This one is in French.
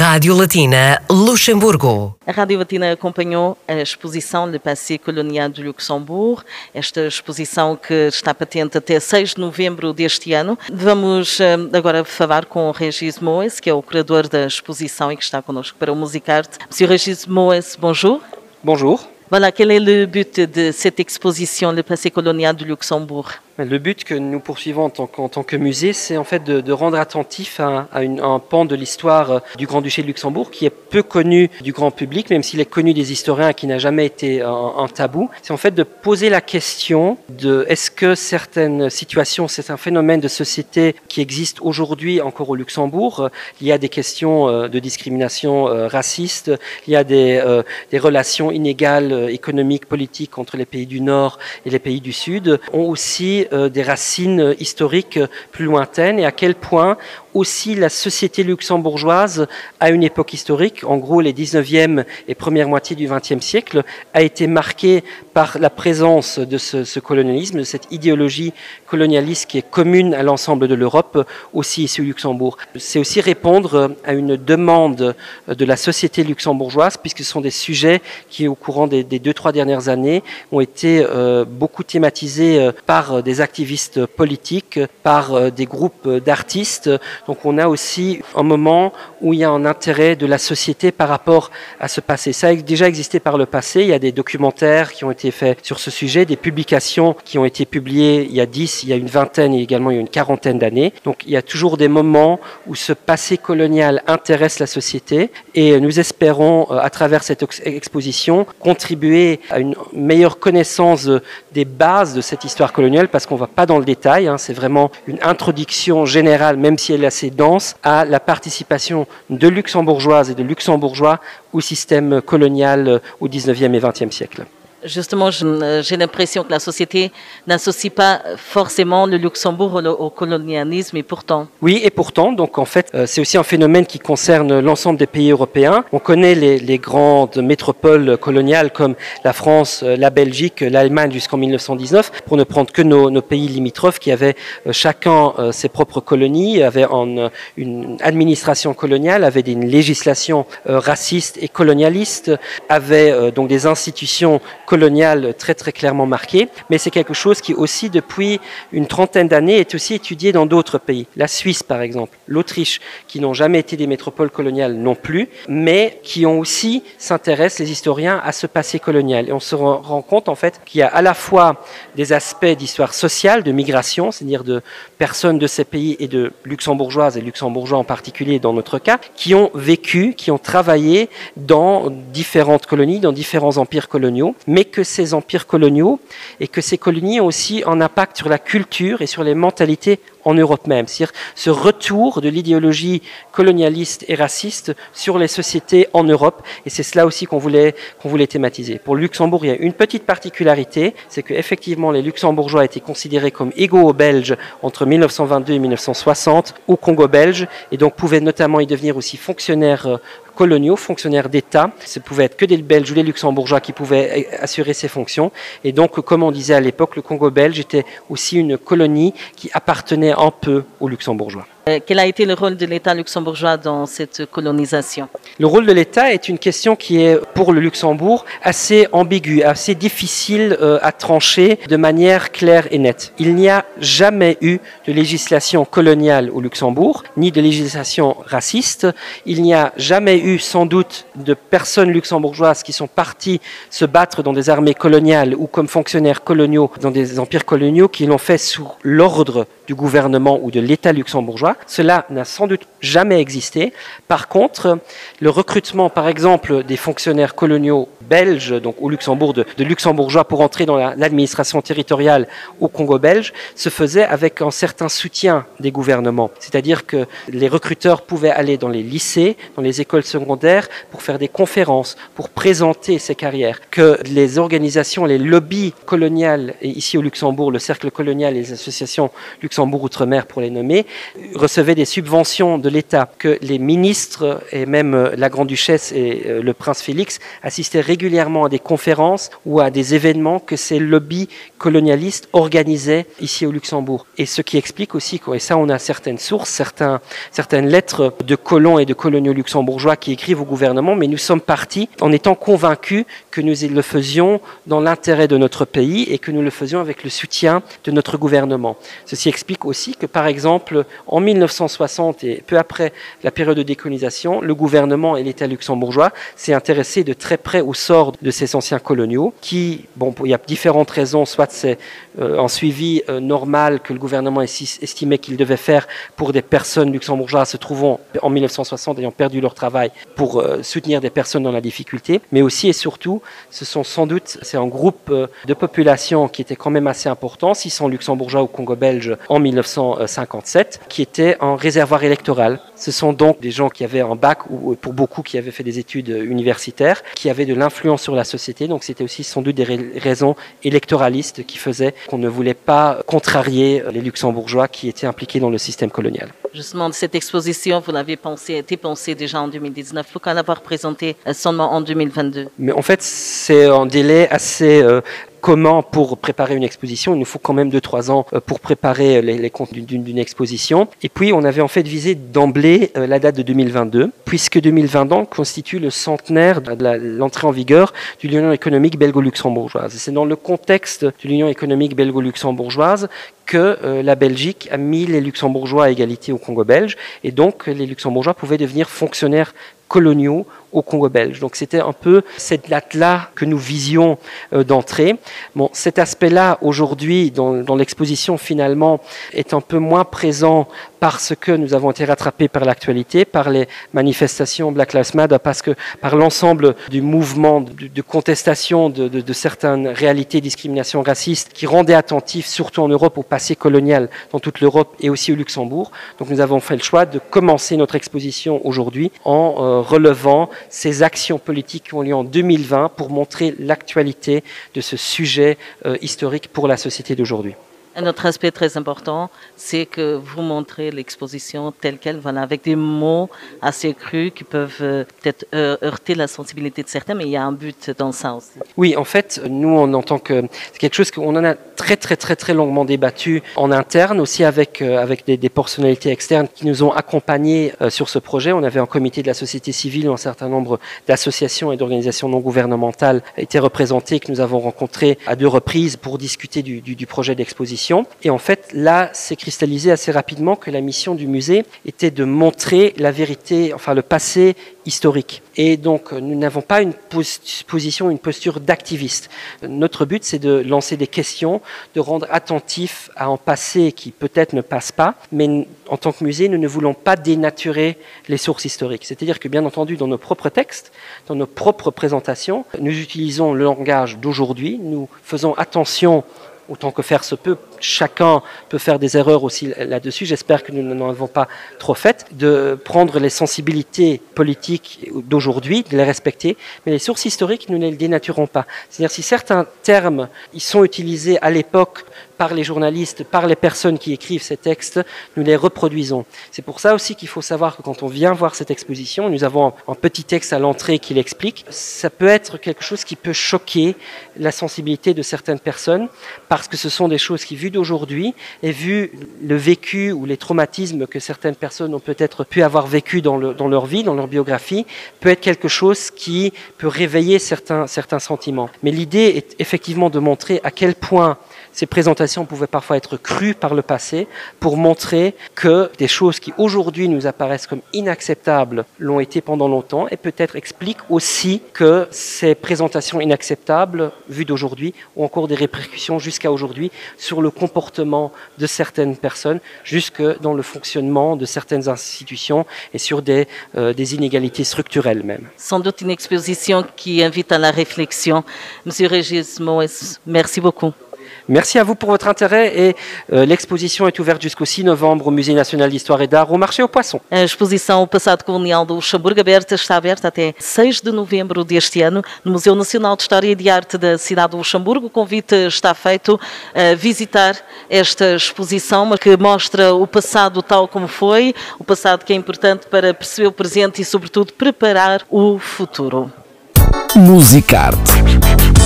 Rádio Latina Luxemburgo. A Rádio Latina acompanhou a exposição Le Passé Colonial do Luxemburgo, esta exposição que está patente até 6 de novembro deste ano. Vamos agora falar com o Régis Moes, que é o curador da exposição e que está connosco para o Musicarte. Monsieur Régis Moes, bonjour. Bonjour. Voilà, quel est le but de cette exposition, Le Passé Colonial du Luxembourg? Le but que nous poursuivons en tant que musée, c'est en fait de rendre attentif à un pan de l'histoire du Grand-Duché de Luxembourg qui est peu connu du grand public, même s'il est connu des historiens et qui n'a jamais été un tabou. C'est en fait de poser la question de est-ce que certaines situations, c'est un phénomène de société qui existe aujourd'hui encore au Luxembourg. Il y a des questions de discrimination raciste, il y a des relations inégales économiques, politiques entre les pays du Nord et les pays du Sud, ont aussi des racines historiques plus lointaines et à quel point aussi la société luxembourgeoise à une époque historique, en gros les 19e et première moitié du 20e siècle, a été marquée par la présence de ce colonialisme, de cette idéologie colonialiste qui est commune à l'ensemble de l'Europe, aussi ici au Luxembourg. C'est aussi répondre à une demande de la société luxembourgeoise, puisque ce sont des sujets qui, au courant des 2-3 dernières années, ont été beaucoup thématisés par des activistes politiques, par des groupes d'artistes. Donc on a aussi un moment où il y a un intérêt de la société par rapport à ce passé. Ça a déjà existé par le passé, il y a des documentaires qui ont été faits sur ce sujet, des publications qui ont été publiées il y a 10, il y a une vingtaine et également il y a une quarantaine d'années. Donc il y a toujours des moments où ce passé colonial intéresse la société et nous espérons à travers cette exposition contribuer à une meilleure connaissance des bases de cette histoire coloniale parce qu'on ne va pas dans le détail, c'est vraiment une introduction générale, même si elle est assez dense, à la participation de luxembourgeoises et de luxembourgeois au système colonial au 19e et 20e siècle. Justement, j'ai l'impression que la société n'associe pas forcément le Luxembourg au colonialisme et pourtant. Oui, et pourtant, donc en fait, c'est aussi un phénomène qui concerne l'ensemble des pays européens. On connaît les grandes métropoles coloniales comme la France, la Belgique, l'Allemagne jusqu'en 1919, pour ne prendre que nos pays limitrophes qui avaient chacun ses propres colonies, avaient une administration coloniale, avaient une législation raciste et colonialiste, avaient donc des institutions coloniale très très clairement marquée, mais c'est quelque chose qui aussi depuis une trentaine d'années est aussi étudié dans d'autres pays. La Suisse par exemple, l'Autriche, qui n'ont jamais été des métropoles coloniales non plus, mais qui ont aussi, s'intéressent les historiens à ce passé colonial. Et on se rend compte en fait qu'il y a à la fois des aspects d'histoire sociale, de migration, c'est-à-dire de personnes de ces pays et de luxembourgeoises et luxembourgeois en particulier dans notre cas, qui ont vécu, qui ont travaillé dans différentes colonies, dans différents empires coloniaux, mais que ces empires coloniaux et que ces colonies ont aussi un impact sur la culture et sur les mentalités en Europe même. C'est-à-dire ce retour de l'idéologie colonialiste et raciste sur les sociétés en Europe. Et c'est cela aussi qu'on voulait thématiser. Pour le Luxembourg, il y a une petite particularité, c'est qu'effectivement les Luxembourgeois étaient considérés comme égaux aux Belges entre 1922 et 1960 au Congo belge et donc pouvaient notamment y devenir aussi fonctionnaires coloniaux, fonctionnaires d'État. Ce pouvait être que des Belges ou des Luxembourgeois qui pouvaient assurer ces fonctions. Et donc, comme on disait à l'époque, le Congo belge était aussi une colonie qui appartenait un peu aux Luxembourgeois. Quel a été le rôle de l'État luxembourgeois dans cette colonisation? Le rôle de l'État est une question qui est, pour le Luxembourg, assez ambiguë, assez difficile à trancher de manière claire et nette. Il n'y a jamais eu de législation coloniale au Luxembourg, ni de législation raciste. Il n'y a jamais eu, sans doute, de personnes luxembourgeoises qui sont parties se battre dans des armées coloniales ou comme fonctionnaires coloniaux dans des empires coloniaux qui l'ont fait sous l'ordre du gouvernement ou de l'État luxembourgeois. Cela n'a sans doute jamais existé. Par contre, le recrutement, par exemple, des fonctionnaires coloniaux belges, donc au Luxembourg, de luxembourgeois pour entrer dans l'administration territoriale au Congo belge, se faisait avec un certain soutien des gouvernements. C'est-à-dire que les recruteurs pouvaient aller dans les lycées, dans les écoles secondaires, pour faire des conférences, pour présenter ces carrières. Que les organisations, les lobbies coloniales, et ici au Luxembourg, le Cercle colonial et les associations Luxembourg Outre-mer pour les nommer, recevaient des subventions de l'État, que les ministres et même la Grande-Duchesse et le prince Félix assistaient régulièrement à des conférences ou à des événements que ces lobbies colonialistes organisaient ici au Luxembourg. Et ce qui explique aussi, et ça on a certaines sources, certaines lettres de colons et de coloniaux luxembourgeois qui écrivent au gouvernement, mais nous sommes partis en étant convaincus que nous le faisions dans l'intérêt de notre pays et que nous le faisions avec le soutien de notre gouvernement. Ceci explique aussi que, par exemple, en 1960 et peu après la période de décolonisation, le gouvernement et l'État luxembourgeois s'est intéressé de très près au sort de ces anciens coloniaux qui, il y a différentes raisons, soit c'est un suivi normal que le gouvernement estimait qu'il devait faire pour des personnes luxembourgeoises se trouvant en 1960 ayant perdu leur travail pour soutenir des personnes dans la difficulté, mais aussi et surtout, c'est un groupe de population qui était quand même assez important, 600 luxembourgeois au Congo belge en 1957, qui était un réservoir électoral. Ce sont donc des gens qui avaient un bac ou pour beaucoup qui avaient fait des études universitaires, qui avaient de l'influence sur la société, donc c'était aussi sans doute des raisons électoralistes qui faisaient qu'on ne voulait pas contrarier les luxembourgeois qui étaient impliqués dans le système colonial. Justement, cette exposition, vous l'avez été pensée déjà en 2019, pourquoi l'avoir présentée seulement en 2022? Mais en fait, c'est un délai assez commun pour préparer une exposition. Il nous faut quand même 2-3 ans pour préparer les contenus d'une exposition. Et puis, on avait en fait visé d'emblée la date de 2022, puisque 2022 constitue le centenaire de l'entrée en vigueur de l'Union économique belgo-luxembourgeoise. C'est dans le contexte de l'Union économique belgo-luxembourgeoise que la Belgique a mis les Luxembourgeois à égalité au Congo belge, et donc les Luxembourgeois pouvaient devenir fonctionnaires coloniaux au Congo belge. Donc c'était un peu cette date-là que nous visions d'entrée. Bon, cet aspect-là, aujourd'hui, dans l'exposition, finalement, est un peu moins présent parce que nous avons été rattrapés par l'actualité, par les manifestations Black Lives Matter, parce que par l'ensemble du mouvement de contestation de certaines réalités de discrimination raciste qui rendaient attentif, surtout en Europe, au passé colonial dans toute l'Europe et aussi au Luxembourg. Donc nous avons fait le choix de commencer notre exposition aujourd'hui en relevant ces actions politiques qui ont lieu en 2020 pour montrer l'actualité de ce sujet historique pour la société d'aujourd'hui. Un autre aspect très important, c'est que vous montrez l'exposition telle qu'elle, voilà, avec des mots assez crus qui peuvent peut-être heurter la sensibilité de certains, mais il y a un but dans ça aussi. Oui, en fait, nous, en tant que... C'est quelque chose qu'on en a très longuement débattu en interne, aussi avec des personnalités externes qui nous ont accompagnés sur ce projet. On avait un comité de la société civile où un certain nombre d'associations et d'organisations non gouvernementales étaient représentées, que nous avons rencontrées à 2 reprises pour discuter du projet d'exposition. Et en fait, là, c'est cristallisé assez rapidement que la mission du musée était de montrer la vérité, enfin le passé historique. Et donc, nous n'avons pas une posture d'activiste. Notre but, c'est de lancer des questions, de rendre attentif à un passé qui peut-être ne passe pas, mais en tant que musée, nous ne voulons pas dénaturer les sources historiques. C'est-à-dire que, bien entendu, dans nos propres textes, dans nos propres présentations, nous utilisons le langage d'aujourd'hui, nous faisons attention autant que faire se peut. Chacun peut faire des erreurs aussi là-dessus. J'espère que nous n'en avons pas trop fait. De prendre les sensibilités politiques d'aujourd'hui, de les respecter, mais les sources historiques, nous ne les dénaturons pas. C'est-à-dire si certains termes ils sont utilisés à l'époque par les journalistes, par les personnes qui écrivent ces textes, nous les reproduisons. C'est pour ça aussi qu'il faut savoir que quand on vient voir cette exposition, nous avons un petit texte à l'entrée qui l'explique. Ça peut être quelque chose qui peut choquer la sensibilité de certaines personnes parce que ce sont des choses qui, vues d'aujourd'hui et vu le vécu ou les traumatismes que certaines personnes ont peut-être pu avoir vécu dans leur vie, dans leur biographie, peut être quelque chose qui peut réveiller certains sentiments. Mais l'idée est effectivement de montrer à quel point ces présentations pouvaient parfois être crues par le passé pour montrer que des choses qui aujourd'hui nous apparaissent comme inacceptables l'ont été pendant longtemps et peut-être expliquent aussi que ces présentations inacceptables vues d'aujourd'hui ont encore des répercussions jusqu'à aujourd'hui sur le comportement de certaines personnes, jusque dans le fonctionnement de certaines institutions et sur des inégalités structurelles même. Sans doute une exposition qui invite à la réflexion. Monsieur Régis Moës, merci beaucoup. Merci à vous pour votre intérêt et l'exposition est ouverte jusqu'au 6 novembre au Musée National d'Histoire et d'Art, au Marché aux Poissons. A exposição O Passado Colonial do Luxemburgo está aberta até 6 de novembro deste ano no Museu Nacional de História e de Arte da cidade do Luxemburgo. O convite está feito a visitar esta exposição que mostra o passado tal como foi, o passado que é importante para perceber o presente e, sobretudo, preparar o futuro. Musicarte.